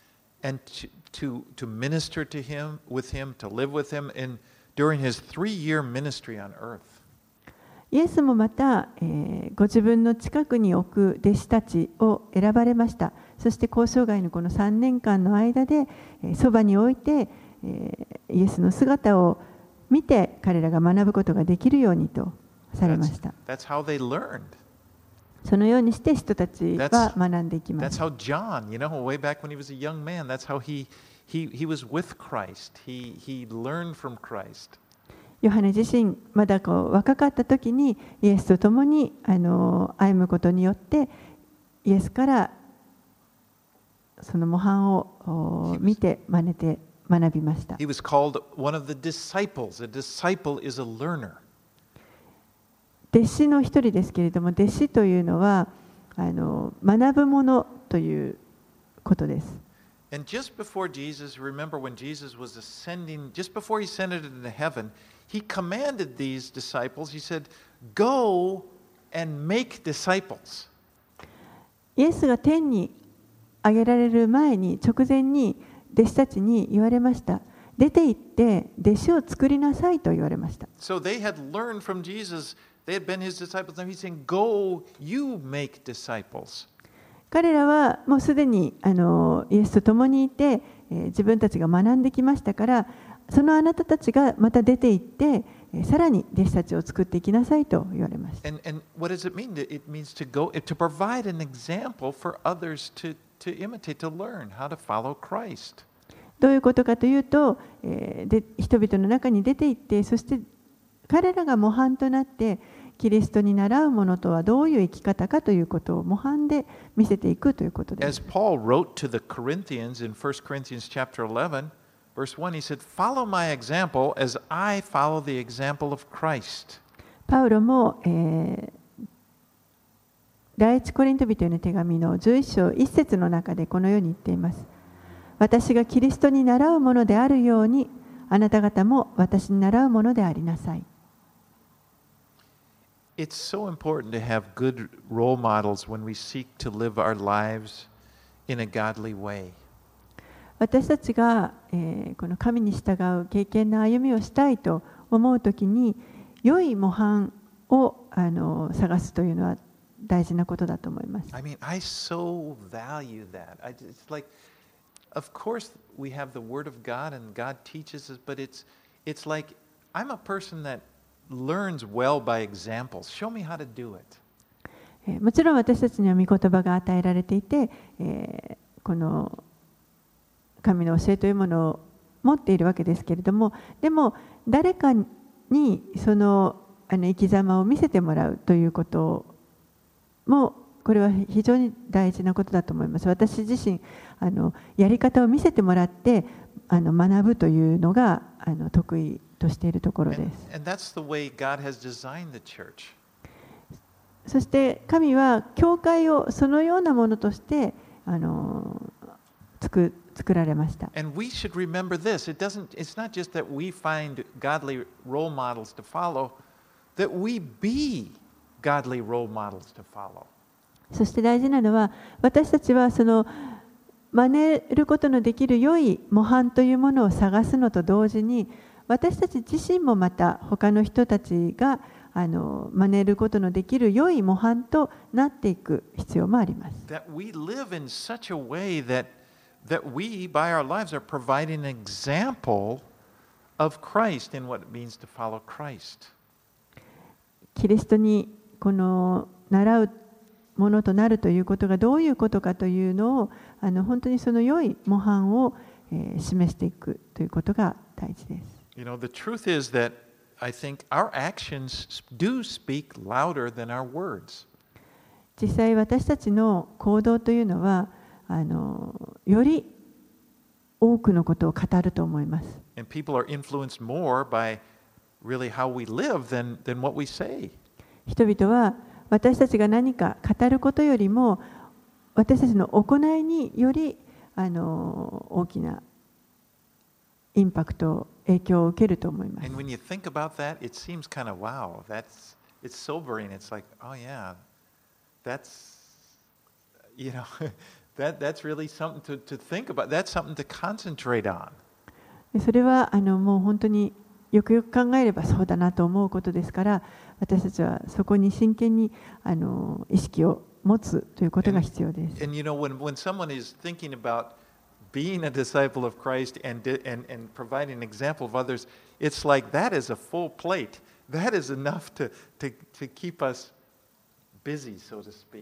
A: and to, to, to minister to him, with him, to live with him in, during his three-year ministry on earth,
B: イエスもまた、えーご自分の近くに置く弟子たちを選ばれました。そして交渉外のこのさんねんかんの間で、えーそばに置いて、 えーイエスの姿を見て彼らが学ぶことができるようにとされました。
A: That's, that's how they learned.
B: そのようにして人たち
A: That's,
B: は学んでいきま
A: that's
B: す。
A: how John, you know, way back when he was a young man, that's how he, he, he was with Christ. He, he learned from Christ.
B: ヨハネ自身まだこう若かった時にイエスと共にあの歩むことによってイエスからその模範を見て真似て学びました。
A: He was called one of the disciples. A disciple is a learner.
B: 弟子の一人ですけれども、弟子というのはあの学ぶものということです。
A: And just before Jesus, remember when Jesus was ascending, just before he ascended into heaven, he commanded these disciples, he said, Go and make disciples.
B: イエスが天に上げられる前に直前に弟子たちに言われました。出て行って弟子を作りなさいと言われました。
A: So they had learned from Jesus, they had been his disciples. Now he's saying, Go, you make disciples.
B: 彼らはもうすでにあのイエスと共にいて、えー自分たちが学んできましたから、そのあなたたちがまた出て行って、えーさらに弟子たちを作っていきなさいと言われました。
A: And, and what does it mean? It means to go, to provide an example for others to, to imitate, to learn how to follow Christ.
B: どういうことかというと、えーで人々の中に出て行って、そして彼らが模範となってキリストに倣うものとはどういう生き方かということを模範で見せていくということです。
A: As Paul wrote to the Corinthians in First Corinthians chapter eleven, verse one, he said, Follow my example as I follow the example of Christ.
B: パウロも、えー第一コリント人への手紙のじゅういっ章いち節の中でこのように言っています。私がキリストに倣うものであるように、あなた方も私に倣うものでありなさい。
A: It's so important to have good role models when we seek to live our lives in a godly way.
B: 私たちが、えーこの神に従う敬虔な歩みをしたいと思うときに、良い模範をあの探すというのは大事なことだと思います。
A: I mean, I so value that. I, it's like, of course, we have the Word of God and God teaches us, but it's, it's like I'm a person that learns well by examples. Show me how to do it.
B: えーもちろん私たちには御言葉が与えられていて、えーこの神の教えというものを持っているわけですけれども、でも誰かにそのあの生き様を見せてもらうということもこれは非常に大事なことだと思います。私自身あのやり方を見せてもらってあの学ぶというのがあの得意としているところで
A: And,
B: す。
A: and that's the way God has designed the church.
B: そして神は教会をそのようなものとしてあの作作られました。
A: And we should remember this. It doesn't, it's not just that we find godly role models to follow, that we be godly role models to follow.
B: そして大事なのは私たちはその真似ることのできる良い模範というものを探すのと同時に、私たち自身もまた他の人たちがあの真似ることのできる良い模範となっていく必要もあります。
A: That we live in such a way that, that we, by our lives, are providing an example of Christ in what it means to follow Christ.
B: キリストにこの習うものとなるということがどういうことかというのをあの本当にその良い模範を、えー示していくということが大事です。
A: You know, the truth is that I think our actions do speak louder than our words.
B: 実際私たちの行動というのはあのより多くのことを語ると思います。
A: And people are influenced more by really how we live than, than what we say.
B: 人々は私たちが何か語ることよりも私たちの行いによりあの大きなインパクト、影響を受けると思います。
A: And when you think about that, it seems kind of wow. That's it's sobering. It's like, oh yeah, that's you know, that that's really something to, to think about. That's something to concentrate on.
B: それはあのもう本当によくよく考えればそうだなと思うことですから、私たちはそこに真剣にあの意識を持つということが必要です。
A: And you know, when when someone is thinking about being a disciple of Christ and, and, and providing an example of others, it's like that is a full plate. That is enough to, to, to keep us busy, so to speak.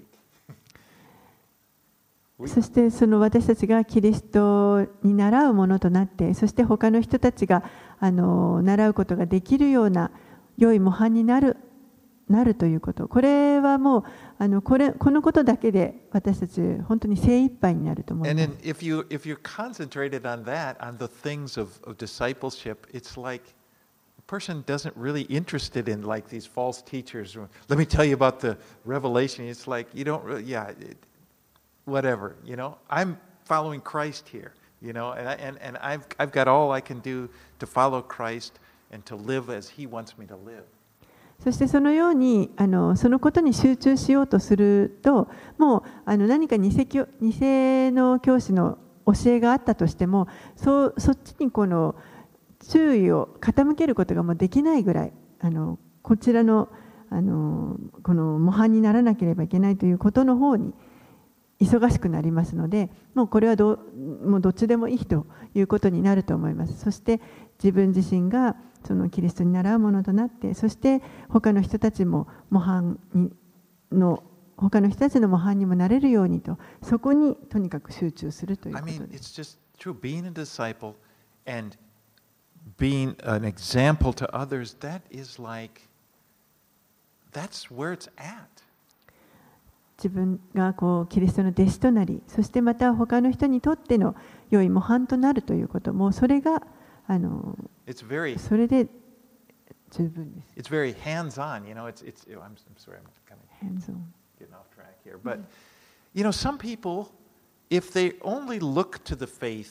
B: そしてその私たちがキリストに習うものとなって、そして他の人たちがあの習うことができるような良い模範になる、なるということ、これはもうあのこれこのことだけで私たち本当に精一杯になると思います。
A: And then if you if you're concentrated on that, on the things of, of discipleship, it's like a person doesn't really interested in like these false teachers. Let me tell you about the revelation. It's like you don't really, yeah. It, whatever, you know, I'm following Christ here, you know, and, I, and, and I've, I've got all I can do to follow Christ and to live as He wants me to live.
B: そしてそのようにあのそのことに集中しようとすると、もうあの何か偽教、偽の教師の教えがあったとしても、そうそっちにこの注意を傾けることがもうできないぐらい、あのこちらのあのこの模範にならなければいけないということの方に忙しくなりますので、もうこれはどもうどっちでもいいということになると思います。そして自分自身がそのキリストに倣うものとなって、そして他の人たちも模範にの他の人たちの模範にもなれるようにと、そこにとにかく集中するということです。
A: I mean, it's just true. Being a disciple and being an example to others, that is like, that's where it's at.
B: 自分がこうキリストの弟子となり、そしてまた他の人にとっての良い模範となるということも、それがあの very, それで十分です。
A: It's very hands-on, you know. It's it's. I'm, I'm sorry, I'm kind of
B: hands-on.
A: getting off track here, but you know, some people, if they only look to the faith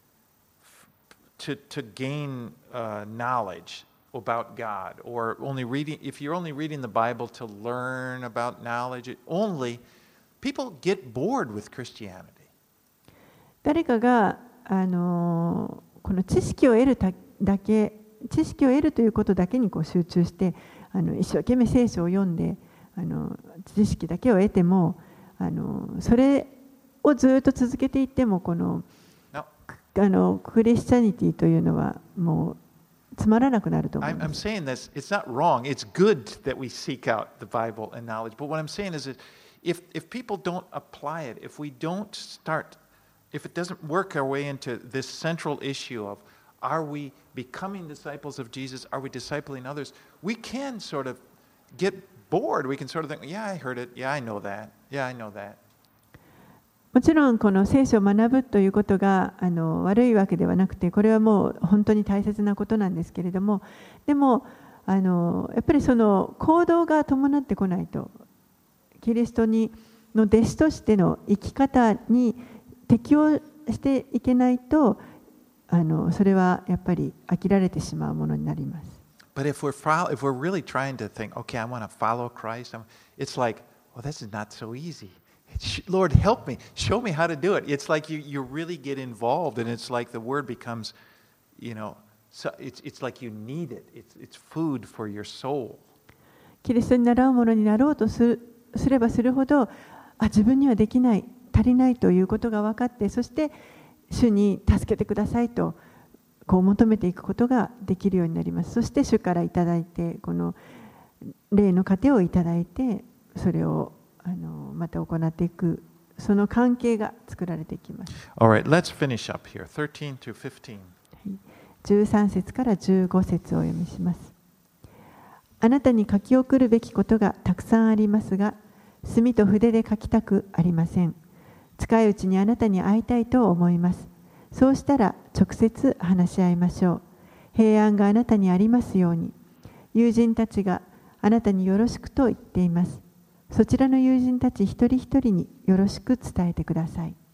A: to to gain uh, knowledge about God, or only reading, if you're only reading the Bible to learn about knowledge only, people get bored with Christianity.
B: 誰かがあのこの知識を得るだけ、知識を得るということだけにこう集中して、あの一生懸命聖書を読んで、あの知識だけを得ても、あのそれをずっと続けていっても、このあのクリスチャニティというのはもうつまらなくなると思います。
A: I'm saying this, it's not wrong. It's good that we seek out the Bible and knowledge. But what I'm saying is that if, if people don't apply it, if we don't start, if it doesn't work our way into this central issue of are we becoming disciples of Jesus, are we discipling others, we can sort of get bored. We can sort of think, yeah, I heard it. Yeah, I know that. Yeah, I know that.
B: もちろんこの聖書を学ぶということがあの悪いわけではなくて、これはもう本当に大切なことなんですけれども、でもあのやっぱりその行動が伴ってこないと、キリストにの弟子としての生き方に適応していけないと、あのそれはやっぱり飽きられてしまうものになります。
A: But if we're follow, if we're really trying to think, okay, I want to follow Christ, it's like, well, this is not so easy.Lord, help me. Show me how to do it. It's like you, you really get involved, and it's like the word becomes, you know, so it's, it's like you need it. It's, it's food for your soul.
B: キリストに習うものになろうとする、すればするほど、あ、自分にはできない、足りないということが分かって、そして主に助けてくださいとこう求めていくことができるようになります。そして主からいただいて、この霊の糧をいただいて、それをあのまた行っていく、その関係が作られていきます。
A: All right, let's finish up here. thirteen to fifteen.
B: じゅうさん節からじゅうご節をお読みします。あなたに書き送るべきことがたくさんありますが、墨と筆で書きたくありません。近いうちにあなたに会いたいと思います。そうしたら直接話し合いましょう。平安があなたにありますように。友人たちがあなたによろしくと言っています。そちらの友人たち一人一人によろしく伝えてください。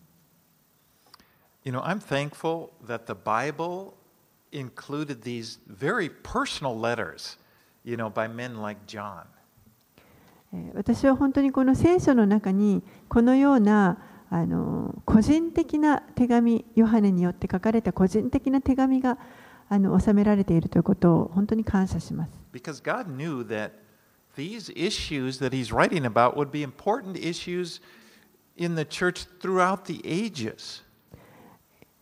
A: You know, I'm thankful that the Bible included these very personal letters, you know, by men like John.
B: 私は本当にこの聖書の中にこのようなあの個人的な手紙、ヨハネによって書かれた個人的な手紙があの収められているということを本当に感謝します。
A: Because God knew that these issues that he's writing about would be important issues in the church throughout the ages.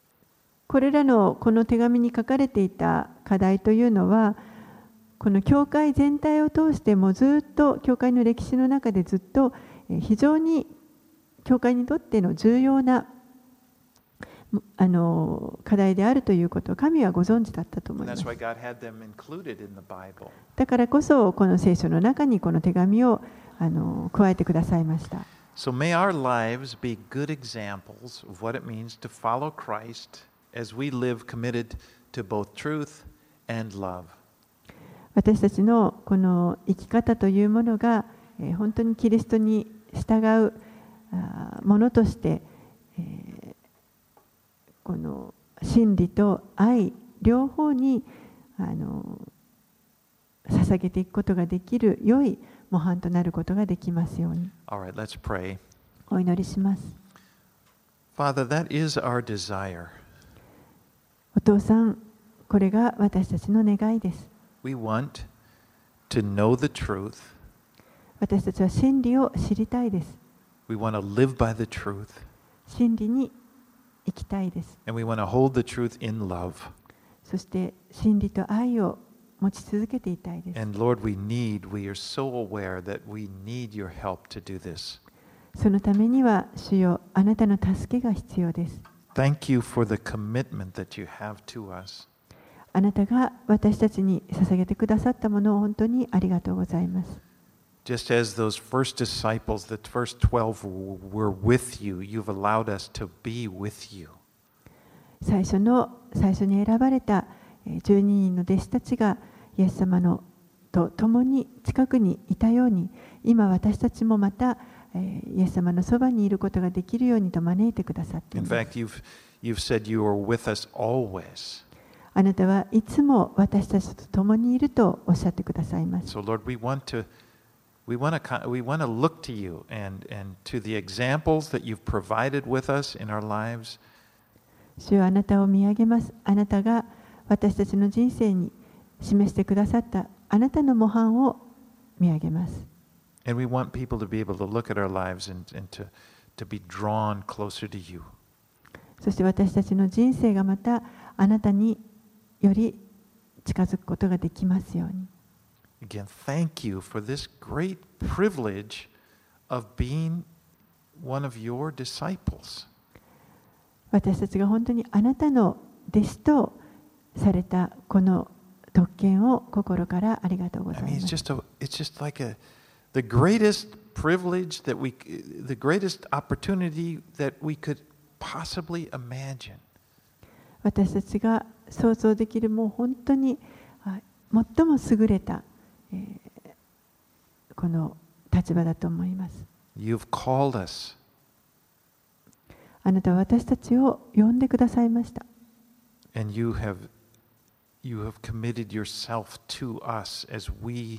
B: これらのこの手紙に書かれていた課題というのは、この教会全体を通してもずっと教会の歴史の中でずっと非常に教会にとっての重要なあの課題であるということを神はご存知だったと思います。だからこそこの聖書の中にこの手紙をあの加えてくださいました。
A: So may our lives be good examples of what it means to follow Christ as we live committed to both truth and love.
B: 私たちのこの生き方というものが、えー、本当にキリストに従うあものとして、えー、この真理と愛両方にあの捧げていくことができる良い模範となることができますように。
A: All right, let's pray.
B: お祈りします。
A: Father, that is our desire.
B: お父さん、これが私たちの願いです。
A: We want to know the truth.
B: 私たちは真理を知りたいです。
A: We want to live by the truth.
B: 真理に生きたいです。
A: And we want to hold the truth in love.
B: そして真理と愛を持ち続けていたいです。
A: And Lord, we need, we are so aware that we need your help to do this.
B: そのためには主よ、あなたの助けが必要です。
A: Thank you for the commitment that you have to us.
B: あなたが私たちに捧げてくださったものを本当にありがとうございます。
A: Just as those first disciples, the first twelve were with you, you've allowed us to be with you.
B: 最初の最初に選ばれたじゅうににんの弟子たちがイエス様のと共に近くにいたように、今私たちもまたイエス様のそばにいることができるようにと招いてくださっています。
A: In fact, you've, you've said you are with us always.
B: あなたはいつも私たちと共にいるとおっしゃってくださいます。
A: So Lord, we want to, we want to, we want to look to you and, and to the examples that you've provided with us in our lives.
B: 主よ、あなたを見上げます。あなたが私たちの人生に示してくださったあなたの模範を見上げます。
A: And we want people to be able to look at our lives and, and to, to be drawn closer to you.
B: そして私たちの人生がまたあなたにより近づくことができますように。
A: Again, thank you for this great privilege of being one of your disciples.
B: 私たちが本当にあなたの弟子とされたこの特権を心からありがとうござい
A: I
B: ま
A: mean, it's
B: す。
A: just a, it's just like a, the greatest privilege that we, the greatest opportunity that we could possibly imagine.
B: 私たちが想像できるもう本当に最も優れた、えー、この立場だと思います。
A: You've called us.
B: あなたは私たちを呼んでくださいました。
A: And you have, you have committed yourself to us as we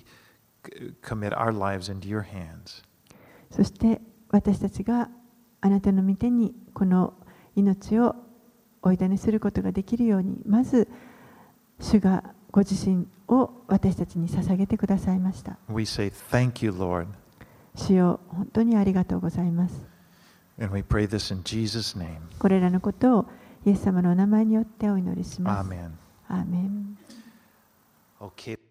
A: commit our lives into your hands.
B: そして私たちがあなたの御手にこの命をお委ねすることができるように、まず主がご自身を私たちに捧げてくださいました。
A: We say thank you, Lord.
B: 主よ、本当にありがとうございます。
A: And we pray this in Jesus' name.
B: これらのことをイエス様のお名前によってお祈りします。
A: Amen.
B: アーメン。
A: Okay.